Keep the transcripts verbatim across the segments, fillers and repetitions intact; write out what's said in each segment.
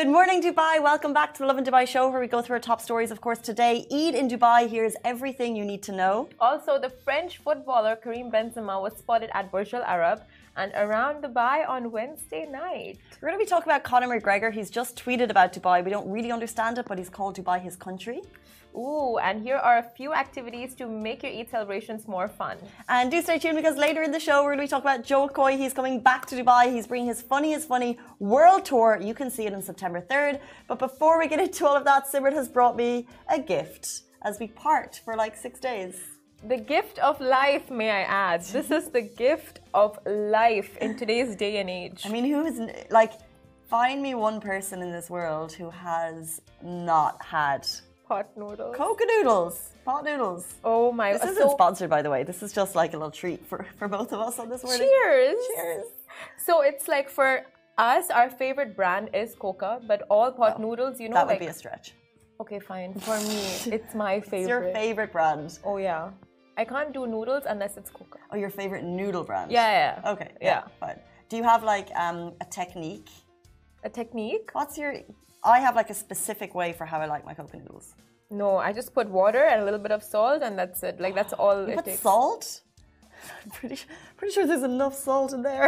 Good morning, Dubai. Welcome back to the Lovin Dubai show, where we go through our top stories. Of course, today, Eid in Dubai. Here's everything you need to know. Also, the French footballer Karim Benzema was spotted at Burj Al Arab and around Dubai on Wednesday night. We're going to be talking about Conor McGregor. He's just tweeted about Dubai. We don't really understand it, but he's called Dubai his country. Ooh, and here are a few activities to make your Eid celebrations more fun. And do stay tuned, because later in the show, we're going to be talking about Joe Coy. He's coming back to Dubai. He's bringing his Funniest Funny world tour. You can see it on September third. But before we get into all of that, Simran has brought me a gift as we part for like six days. The gift of life, may I add. This is the gift of life in today's day and age. I mean, who is, like, find me one person in this world who has not had pot noodles. Coca noodles. Pot noodles. Oh my god. This so, isn't sponsored, by the way. This is just like a little treat for, for both of us on this morning. Cheers. Cheers. So it's like for us, our favorite brand is Coca, but all pot well, noodles, you know, that would like, be a stretch. Okay, fine. For me, it's my favorite. It's your favorite brand. Oh yeah. I can't do noodles unless it's Coca. Oh, your favorite noodle brand? Yeah, yeah. Okay, yeah, yeah. Fine. Do you have like um, a technique? A technique? What's your... I have like a specific way for how I like my Coca noodles. No, I just put water and a little bit of salt and that's it. Like, that's all you it put takes. Salt? I'm pretty, pretty sure there's enough salt in there.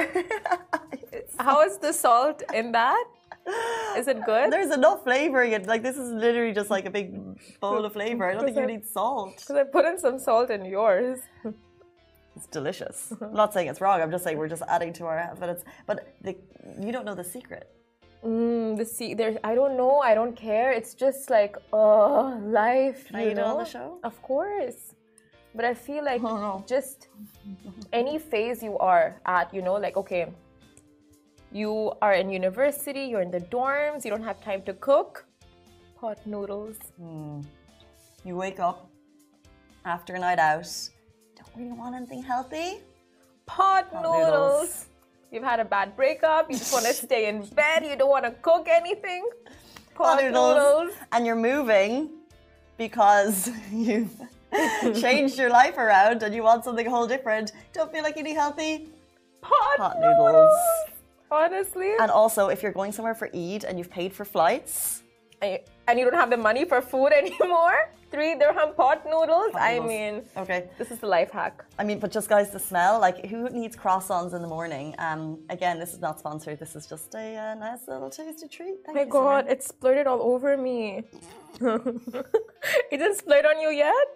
How is the salt in that? Is it good? There's enough flavoring. It like this is literally just like a big bowl of flavor. I don't think you need salt. Because I put in some salt in yours. It's delicious. I'm not saying it's wrong. I'm just saying we're just adding to our. But it's but the, you don't know the secret. Mm, the sea. There's. I don't know. I don't care. It's just like oh, life. Can I you eat know? it on the show? Of course. But I feel like oh, no. just any phase you are at, you know, like okay. You are in university, you're in the dorms, you don't have time to cook. Pot noodles. Mm. You wake up after a night out, don't really want anything healthy. Pot, Pot noodles. noodles. You've had a bad breakup, you just want to stay in bed, you don't want to cook anything. Pot, Pot noodles. noodles. And you're moving because you've changed your life around and you want something whole different. Don't feel like eating healthy. Pot, Pot noodles. noodles. Honestly. And also, if you're going somewhere for Eid and you've paid for flights, and you don't have the money for food anymore, three dirham pot noodles. Pot I noodles. mean, okay, this is the life hack. I mean, but just guys, the smell. Like, who needs croissants in the morning? Um, again, this is not sponsored. This is just a uh, nice little tasty treat. Thank My you, God, Simran. it splurted all over me. It didn't splurt on you yet?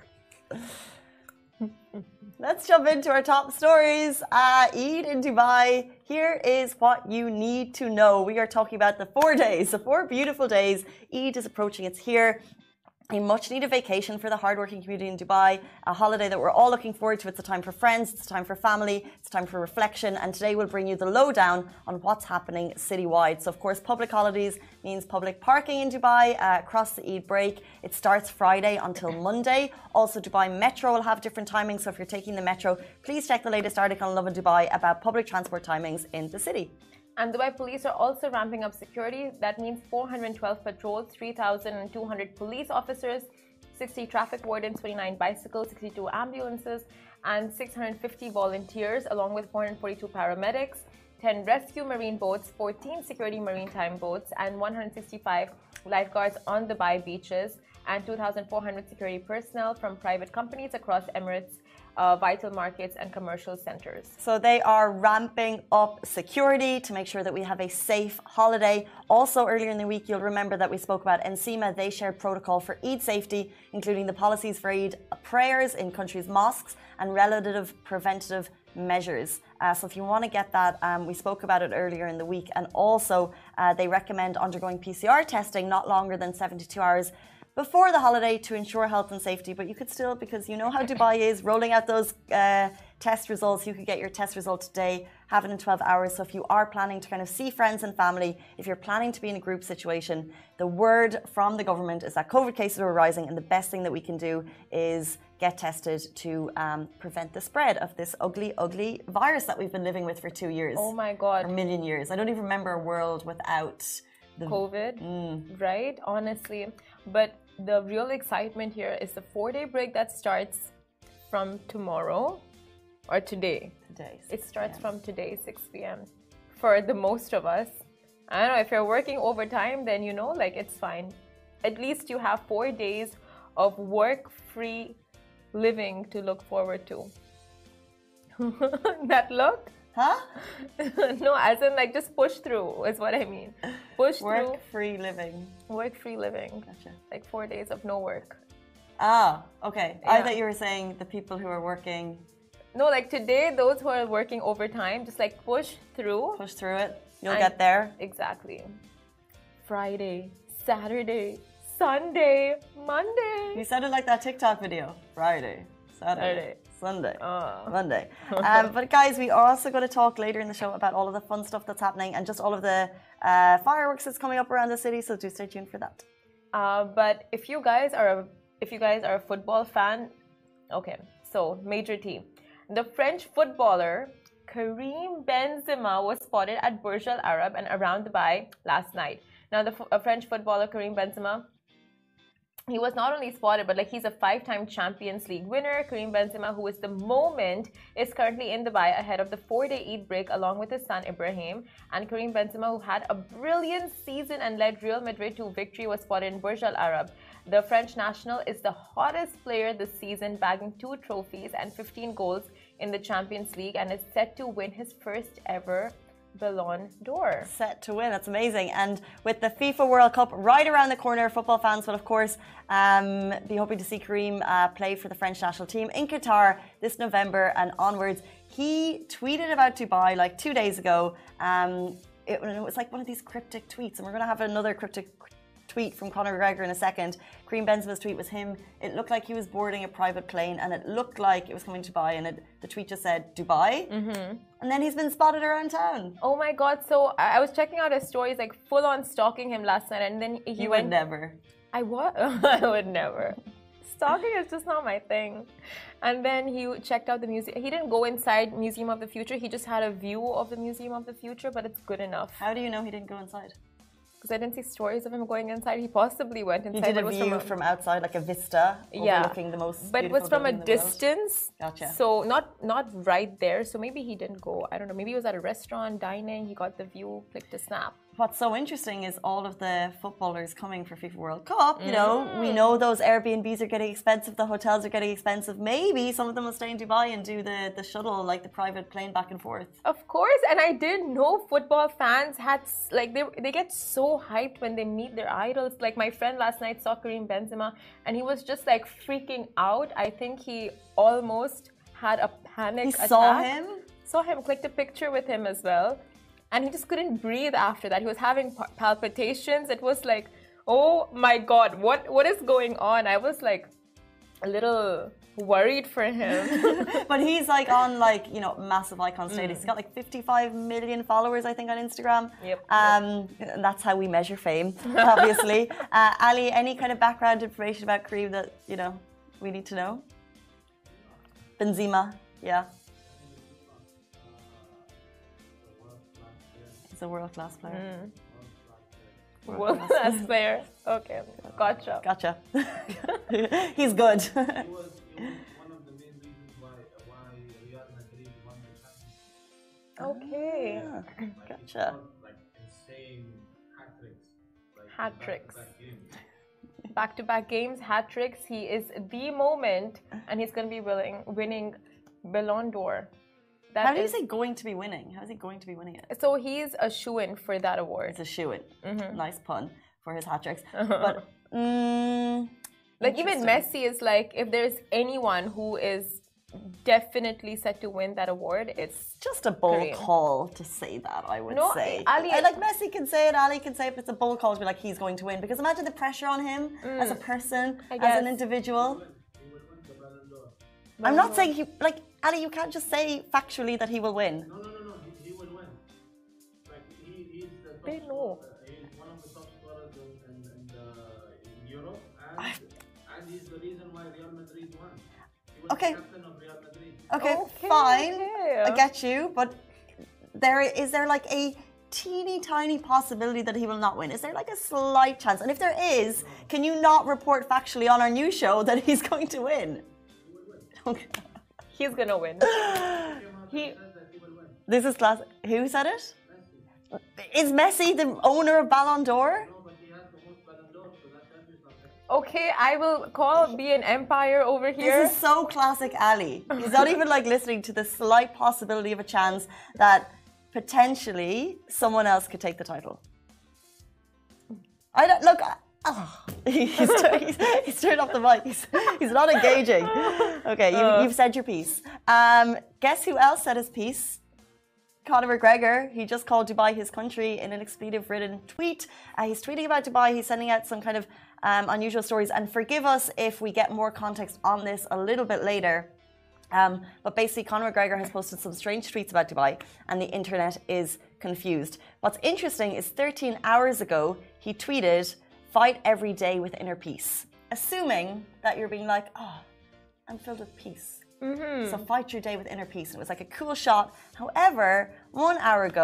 Let's jump into our top stories. Uh, Eid in Dubai. Here is what you need to know. We are talking about the four days, the four beautiful days. Eid is approaching. It's here. A much-needed vacation for the hardworking community in Dubai, a holiday that we're all looking forward to. It's a time for friends, it's a time for family, it's a time for reflection, and today we'll bring you the lowdown on what's happening citywide. So, of course, public holidays means public parking in Dubai uh, across the Eid break. It starts Friday until Monday. Also, Dubai Metro will have different timings, so if you're taking the Metro, please check the latest article on Lovin Dubai about public transport timings in the city. And Dubai police are also ramping up security. That means four hundred twelve patrols, three thousand two hundred police officers, sixty traffic wardens, twenty-nine bicycles, sixty-two ambulances, and six hundred fifty volunteers, along with four hundred forty-two paramedics, ten rescue marine boats, fourteen security maritime boats, and one hundred sixty-five lifeguards on Dubai beaches, and two thousand four hundred security personnel from private companies across Emirates, Uh, vital markets and commercial centers. So they are ramping up security to make sure that we have a safe holiday. Also, earlier in the week, you'll remember that we spoke about NCEMA. They shared protocol for Eid safety, including the policies for Eid prayers in countries' mosques and relative preventative measures. Uh, so if you want to get that, um, we spoke about it earlier in the week. And also, uh, they recommend undergoing P C R testing not longer than seventy-two hours before the holiday to ensure health and safety. But you could still, because you know how Dubai is, rolling out those uh, test results. You could get your test result today, have it in twelve hours. So if you are planning to kind of see friends and family, if you're planning to be in a group situation, the word from the government is that COVID cases are rising, and the best thing that we can do is get tested to um, prevent the spread of this ugly, ugly virus that we've been living with for two years. Oh my God. Or a million years. I don't even remember a world without the COVID, mm. right? Honestly. But the real excitement here is the four-day break that starts from tomorrow or today. Today. It starts from today, six p m for the most of us. I don't know, if you're working overtime, then you know, like it's fine. At least you have four days of work-free living to look forward to. That look? Huh? No, as in like just push through is what I mean. Push work through. Work-free living. Work-free living. Gotcha. Like four days of no work. Ah, okay. Yeah. I thought you were saying the people who are working. No, like today, those who are working overtime, just like push through. Push through it. You'll and get there. Exactly. Friday, Saturday, Sunday, Monday. You said it like that TikTok video. Friday, Saturday, Saturday. Sunday, uh. Monday. Um, but guys, we are also going to talk later in the show about all of the fun stuff that's happening and just all of the uh, fireworks that's coming up around the city. So do stay tuned for that. Uh, but if you guys are a, if you guys are a football fan, okay. So major team, the French footballer Karim Benzema was spotted at Burj Al Arab and around Dubai last night. Now, the uh, French footballer Karim Benzema, he was not only spotted, but like he's a five-time Champions League winner. Karim Benzema, who is the moment, is currently in Dubai ahead of the four-day Eid break along with his son Ibrahim. And Karim Benzema, who had a brilliant season and led Real Madrid to victory, was spotted in Burj Al Arab. The French national is the hottest player this season, bagging two trophies and fifteen goals in the Champions League, and is set to win his first ever Ballon d'Or. Set to win. That's amazing. And with the FIFA World Cup right around the corner, football fans will, of course, um, be hoping to see Karim uh, play for the French national team in Qatar this November and onwards. He tweeted about Dubai like two days ago. Um, it, it was like one of these cryptic tweets, and we're going to have another cryptic tweet from Conor McGregor in a second. Karim Benzema's tweet was him. It looked like he was boarding a private plane, and it looked like it was coming to Dubai, and it, the tweet just said Dubai. Mm-hmm. And then he's been spotted around town. Oh my God! So I, I was checking out his stories, like full on stalking him last night, and then he you went. would never. I what? I would never. Stalking is just not my thing. And then he checked out the museum. He didn't go inside Museum of the Future. He just had a view of the Museum of the Future, but it's good enough. How do you know he didn't go inside? Because I didn't see stories of him going inside. He possibly went inside. He did a was view from, a, from outside, like a vista, yeah, overlooking the most but it was from a distance. Gotcha. So not not right there. So maybe he didn't go. I don't know. Maybe he was at a restaurant dining. He got the view, clicked a snap. What's so interesting is all of the footballers coming for FIFA World Cup. You know, mm. we know those Airbnbs are getting expensive. The hotels are getting expensive. Maybe some of them will stay in Dubai and do the, the shuttle, like the private plane back and forth. Of course. And I didn't know football fans had, like, they, they get so hyped when they meet their idols. Like, my friend last night saw Karim Benzema and he was just, like, freaking out. I think he almost had a panic he attack. saw him? Saw him, clicked a picture with him as well. And he just couldn't breathe after that. He was having palpitations. It was like, oh my God, what what is going on? I was like a little worried for him. But he's like on like, you know, massive icon status. Mm. He's got like fifty-five million followers, I think, on Instagram. Yep. Um, yep. And that's how we measure fame, obviously. uh, Ali, any kind of background information about Karim that, you know, we need to know? Benzema, yeah. A world-class player. Mm. World-class player. Okay, gotcha. Gotcha. He's good. He was, he was one of the main reasons why, why Real Madrid won the Champions League. Okay. Ah, like, gotcha. Like insane hat tricks. Like hat tricks. Back-to-back, back-to-back games, hat tricks. He is the moment, and he's going to be willing, winning Ballon d'Or. That How do you is, say going to be winning? How is he going to be winning it? So he's a shoo-in for that award. It's a shoo-in. Mm-hmm. Nice pun for his hat tricks. Uh-huh. But mm, like even Messi is like, if there's anyone who is definitely set to win that award, it's just a bold Karim. call to say that. I would no, say. Ali, I, like Messi can say it, Ali can say it, but it's a bold call to be like he's going to win. Because imagine the pressure on him mm, as a person, as an individual. I'm not saying he like Ali. You can't just say factually that he will win. No, no, no, no. He, he will win. Like he, he's the top they know. Scorer. He's one of the top scorers in, in, in, the, in Europe, and, and he's the reason why Real Madrid won. He was okay. the captain of Real Madrid. Okay, okay fine. okay. I get you, but there is there like a teeny tiny possibility that he will not win? Is there like a slight chance? And if there is, can you not report factually on our new show that he's going to win? Okay. He's gonna win. he. This is class. Who said it? Is Messi the owner of Ballon d'Or? No, but he has the most Ballon d'Or, so that tells you something. Okay, I will call be an empire over here. This is so classic Ali. He's not even like listening to the slight possibility of a chance that potentially someone else could take the title. I don't look. Oh, he's, turned, he's, he's turned off the mic. He's, he's not engaging. Okay, you, Uh. you've said your piece. Um, guess who else said his piece? Conor McGregor. He just called Dubai his country in an expletive-ridden tweet. Uh, he's tweeting about Dubai. He's sending out some kind of um, unusual stories. And forgive us if we get more context on this a little bit later. Um, but basically, Conor McGregor has posted some strange tweets about Dubai, and the internet is confused. What's interesting is thirteen hours ago, he tweeted, "Fight every day with inner peace," assuming that you're being like, "Oh, I'm filled with peace." Mm-hmm. So fight your day with inner peace. And it was like a cool shot. However, one hour ago,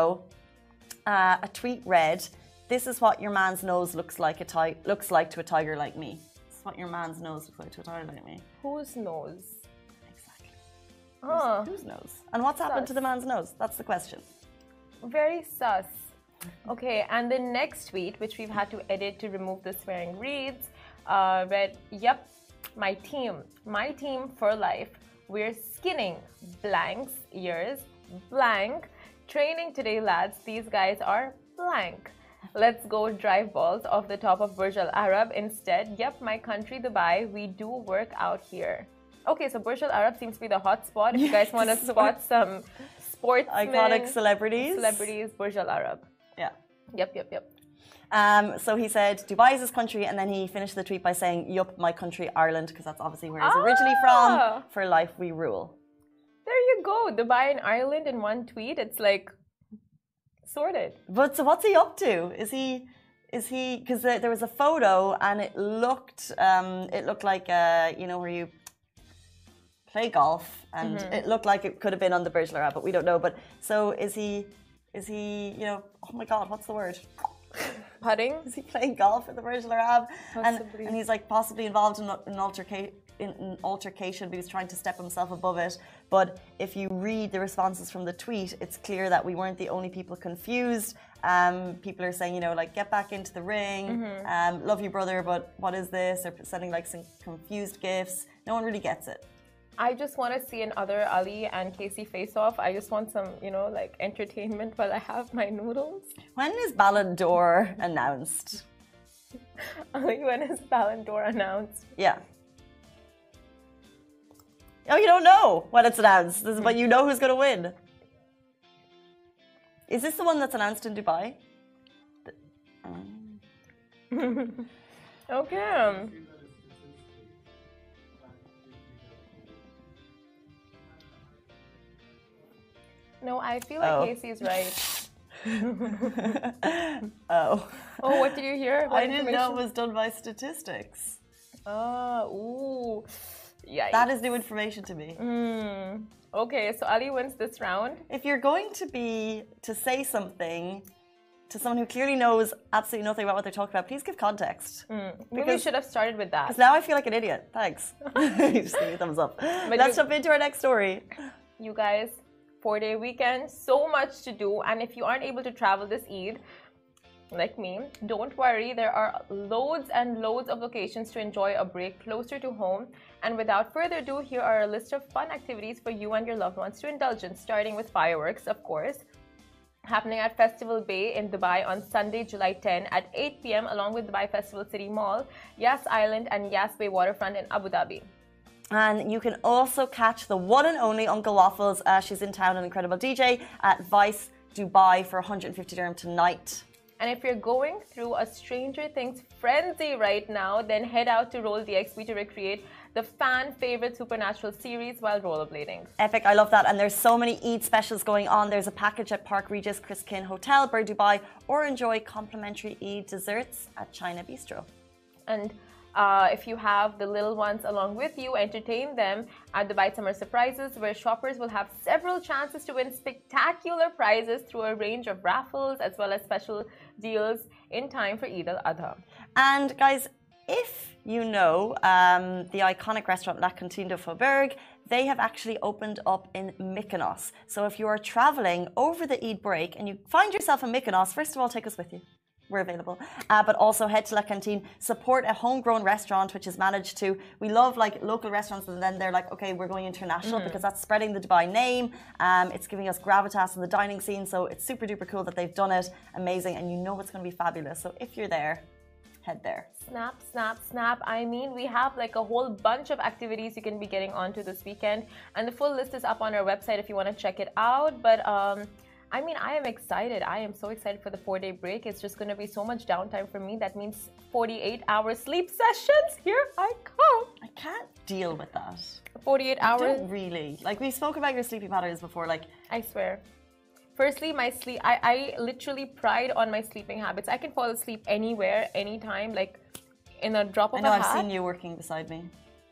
uh, a tweet read, "This is what your man's nose looks like a ti- looks like to a tiger like me." This is what your man's nose looks like to a tiger like me. Whose nose? Exactly. Oh, Whose nose? And what's happened to the man's nose? That's the question. very sus. Okay, and the next tweet, which we've had to edit to remove the swearing, reads, uh, read, "Yep, my team, my team for life. We're skinning blanks ears, blank. Training today, lads. These guys are blank. Let's go drive balls off the top of Burj Al Arab instead. Yep, my country, Dubai. We do work out here." Okay, so Burj Al Arab seems to be the hot spot. If you guys want to spot some sportsmen, Iconic celebrities. celebrities, Burj Al Arab. Yeah. Yep, yep, yep. Um, so he said, "Dubai is his country," and then he finished the tweet by saying, "Yup, my country, Ireland," because that's obviously where he's originally from. Ah. For life we rule. There you go. Dubai and Ireland in one tweet. It's like sorted. But so what's he up to? Is he, is he? Because there, there was a photo and it looked, um, it looked like, uh, you know, where you play golf, and Mm-hmm. it looked like it could have been on the Burj Al Arab, but we don't know. But so is he? Is he? You know? Oh my God, what's the word? Putting? Is he playing golf at the Burj Al Arab? And, Possibly. and he's like possibly involved in an altercation. In an altercation, but he's trying to step himself above it. But if you read the responses from the tweet, it's clear that we weren't the only people confused. Um, people are saying, you know, like, get back into the ring, Mm-hmm. um, love you, brother, but what is this? Or sending like some confused gifts. No one really gets it. I just want to see another Ali and Casey face off. I just want some, you know, like entertainment while I have my noodles. When is Ballon d'Or announced? Ali, when is Ballon d'Or announced? Yeah. Oh, you don't know when it's announced, this is, but you know who's going to win. Is this the one that's announced in Dubai? The- um, Okay. No, I feel like Oh. Casey's right. oh. Oh, what did you hear? What I didn't know it information? was done by statistics. Oh, ooh. Yeah. That is new information to me. Mm. Okay, so Ali wins this round. If you're going to be to say something to someone who clearly knows absolutely nothing about what they're talking about, please give context. Maybe we Because- should have started with that. Because now I feel like an idiot. Thanks. Just give me a thumbs up. Let's you- jump into our next story. You guys, four-day weekend, so much to do. And if you aren't able to travel this Eid, like me, don't worry. There are loads and loads of locations to enjoy a break closer to home. And without further ado, here are a list of fun activities for you and your loved ones to indulge in, starting with fireworks, of course, happening at Festival Bay in Dubai on Sunday, July tenth at eight p m along with Dubai Festival City Mall, Yas Island and Yas Bay Waterfront in Abu Dhabi. And you can also catch the one and only Uncle Waffles. Uh, she's in town, an incredible D J at Vice Dubai for one hundred fifty dirham tonight. And if you're going through a Stranger Things frenzy right now, then head out to Roll D X B to recreate the fan favorite Supernatural series while rollerblading. Epic, I love that. And there's so many Eid specials going on. There's a package at Park Regis, Chris Kin Hotel, Bird Dubai, or enjoy complimentary Eid desserts at China Bistro. And uh, if you have the little ones along with you, entertain them at Dubai Summer Surprises, where shoppers will have several chances to win spectacular prizes through a range of raffles as well as special deals in time for Eid al-Adha. And guys, if you know um, the iconic restaurant La Cantine de Faubourg, they have actually opened up in Mykonos. So if you are traveling over the Eid break and you find yourself in Mykonos, first of all, take us with you. We're available. Uh, but also head to La Cantine, support a homegrown restaurant which is managed to, we love like local restaurants and then they're like, okay, we're going international mm-hmm. because that's spreading the Dubai name. Um, it's giving us gravitas in the dining scene. So it's super duper cool that they've done it. Amazing. And you know it's going to be fabulous. So if you're there, head there. Snap, snap, snap. I mean, we have like a whole bunch of activities you can be getting onto this weekend. And the full list is up on our website if you want to check it out. But, um, I mean, I am excited. I am so excited for the four-day break. It's just going to be so much downtime for me. That means forty-eight hour sleep sessions. Here I come. I can't deal with that. forty-eight hours? I don't really. Like, we spoke about your sleeping patterns before. Like, I swear. Firstly, my sleep, I, I literally pride on my sleeping habits. I can fall asleep anywhere, anytime, like in a drop of a hat. I know, I've seen you working beside me.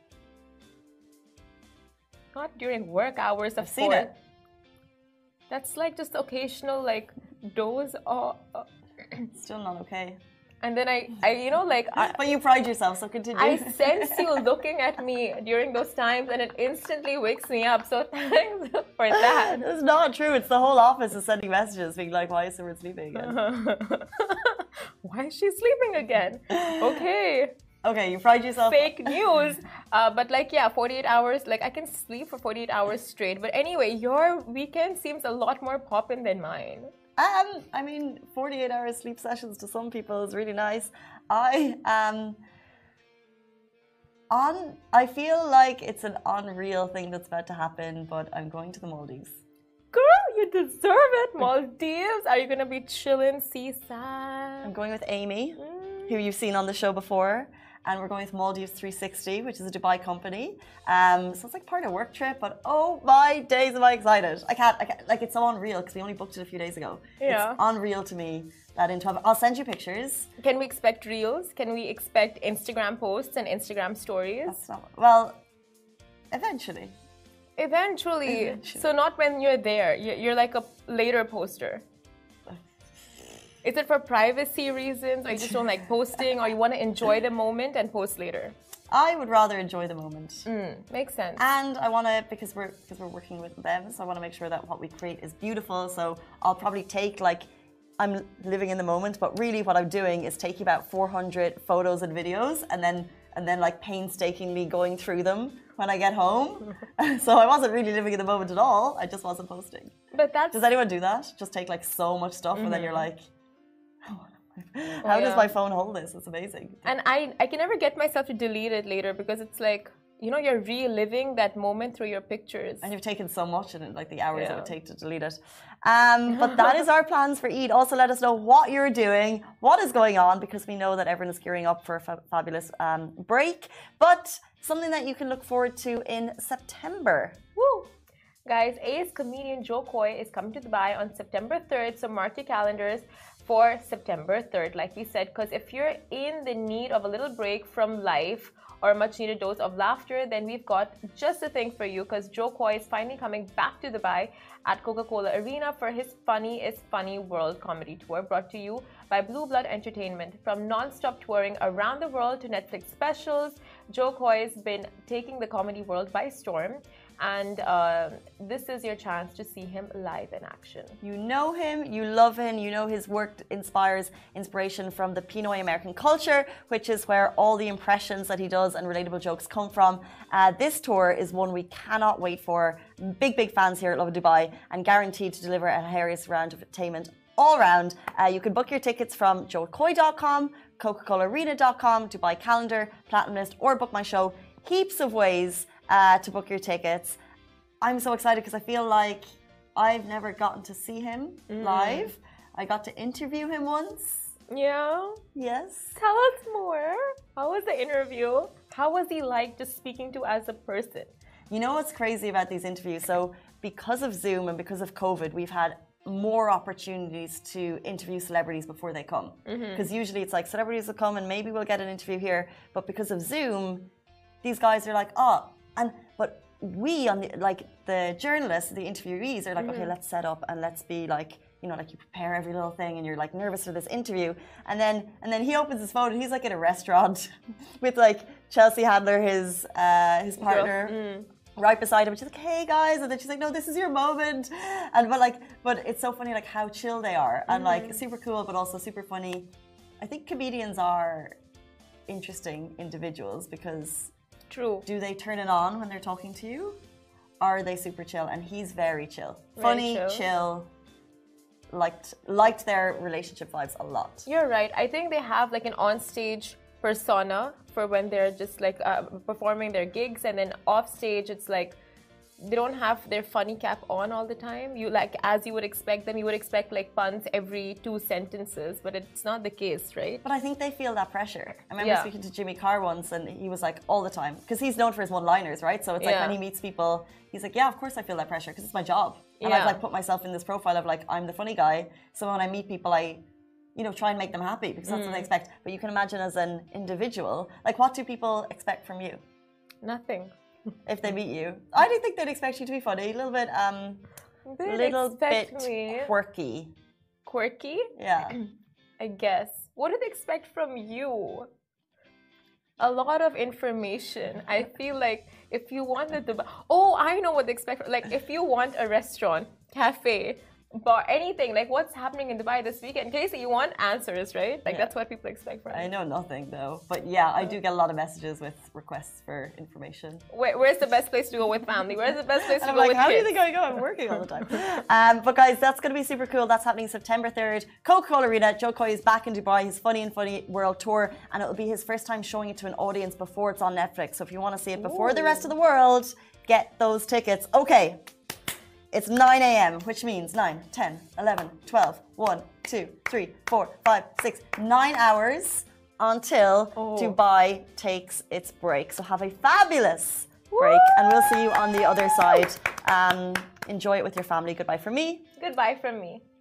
Not during work hours, of I've seen course. it. That's like just occasional like doze or uh, still not okay. And then I, I you know like I, but you pride yourself, so continue. I sense you looking at me during those times and it instantly wakes me up, so thanks for that. It's not true. It's the whole office is sending messages being like, why is someone sleeping again? Why is she sleeping again? Okay. Okay, you pride yourself. Fake news. Uh, but like, yeah, forty-eight hours, like I can sleep for forty-eight hours straight. But anyway, your weekend seems a lot more poppin' than mine. Um, I mean, forty-eight hour sleep sessions to some people is really nice. I um, on. I feel like it's an unreal thing that's about to happen, but I'm going to the Maldives. Girl, you deserve it. Maldives. Are you gonna be chilling seaside? I'm going with Amy, mm. who you've seen on the show before. And we're going with Maldives three sixty, which is a Dubai company. Um, so it's like part of a work trip, but oh my days am I excited. I can't, I can't like it's so unreal because we only booked it a few days ago. Yeah. It's unreal to me that in twelve, I'll send you pictures. Can we expect reels? Can we expect Instagram posts and Instagram stories? That's not, well, eventually. Eventually. Eventually. So not when you're there. You're like a later poster. Is it for privacy reasons, or you just don't like posting, or you want to enjoy the moment and post later? I would rather enjoy the moment. Mm, makes sense. And I want to, because we're because we're working with them, so I want to make sure that what we create is beautiful. So I'll probably take like, I'm living in the moment, but really what I'm doing is taking about four hundred photos and videos, and then and then like painstakingly going through them when I get home. So I wasn't really living in the moment at all. I just wasn't posting. But that's... Does anyone do that? Just take like so much stuff, mm-hmm. and then you're like, how oh, yeah. does my phone hold this? It's amazing. And I, I can never get myself to delete it later because it's like, you know, you're reliving that moment through your pictures. And you've taken so much in it, like the hours yeah. it would take to delete it. Um, but that is our plans for Eid. Also, let us know what you're doing, what is going on, because we know that everyone is gearing up for a fa fabulous um, break. But something that you can look forward to in September. Woo! Guys, ace comedian Jo Koy is coming to Dubai on September third, so mark your calendars for September third, like we said, because if you're in the need of a little break from life or a much needed dose of laughter, then we've got just the thing for you, because Jo Koy is finally coming back to Dubai at Coca-Cola Arena for his Funny is Funny World Comedy Tour, brought to you by Blue Blood Entertainment. From non-stop touring around the world to Netflix specials, Jo Koy has been taking the comedy world by storm. And uh, this is your chance to see him live in action. You know him, you love him, you know his work inspires inspiration from the Pinoy American culture, which is where all the impressions that he does and relatable jokes come from. Uh, this tour is one we cannot wait for. Big, big fans here at Love Dubai, and guaranteed to deliver a hilarious round of entertainment all round. Uh, you can book your tickets from jo koy dot com, coca cola arena dot com, Dubai Calendar, Platinum List, or Book My Show. Heaps of ways Uh, to book your tickets. I'm so excited because I feel like I've never gotten to see him mm. live. I got to interview him once. Yeah? Yes. Tell us more. How was the interview? How was he like just speaking to as a person? You know what's crazy about these interviews? So because of Zoom and because of COVID, we've had more opportunities to interview celebrities before they come. Because mm-hmm. usually it's like celebrities will come and maybe we'll get an interview here. But because of Zoom, these guys are like, oh, and but we on the like the journalists, the interviewees are like, mm-hmm. okay, let's set up and let's be like, you know, like you prepare every little thing and you're like nervous for this interview, and then and then he opens his phone and he's like in a restaurant with like Chelsea Handler, his uh, his partner, mm. right beside him. She's like, "Hey guys," and then she's like, "No, this is your moment." And but like, but it's so funny like how chill they are, and Mm-hmm. like super cool, but also super funny. I think comedians are interesting individuals because True. do they turn it on when they're talking to you? Are they super chill? And he's very chill, Very funny, chill. chill. Liked liked their relationship vibes a lot. You're right. I think they have like an on-stage persona for when they're just like uh, performing their gigs, and then off stage it's like they don't have their funny cap on all the time. You like, as you would expect them, you would expect like puns every two sentences, but it's not the case, right? But I think they feel that pressure. I remember Yeah. speaking to Jimmy Carr once, and he was like, all the time, because he's known for his one-liners, right? So it's like Yeah. when he meets people, he's like, yeah, of course I feel that pressure, because it's my job. And Yeah. I've like put myself in this profile of like, I'm the funny guy. So when I meet people, I, you know, try and make them happy, because that's Mm. what they expect. But you can imagine as an individual, like what do people expect from you Nothing. if they meet you? I do think they'd expect you to be funny, a little bit, um, They little expect bit me quirky. quirky, Yeah. I guess. What do they expect from you? A lot of information. I feel like if you want the Dubai, oh, I know what they expect. Like if you want a restaurant, cafe, bar, anything, like what's happening in Dubai this weekend, Casey, you want answers, right? Like Yeah. that's what people expect from I you. know nothing though, but yeah, I do get a lot of messages with requests for information. Where, where's the best place to go with family? Where's the best place And to I'm go like, with how kids? do you think I go? I'm working all the time. um, but guys, that's going to be super cool. That's happening September third. Coca-Cola Arena. Joe Coy is back in Dubai. His Funny and Funny World Tour, and it will be his first time showing it to an audience before it's on Netflix. So if you want to see it before the rest of the world, get those tickets. Okay. It's nine a m, which means nine, ten, eleven, twelve, one, two, three, four, five, six, nine hours until Oh. Dubai takes its break. So have a fabulous break, and we'll see you on the other side. Um, enjoy it with your family. Goodbye from me. Goodbye from me.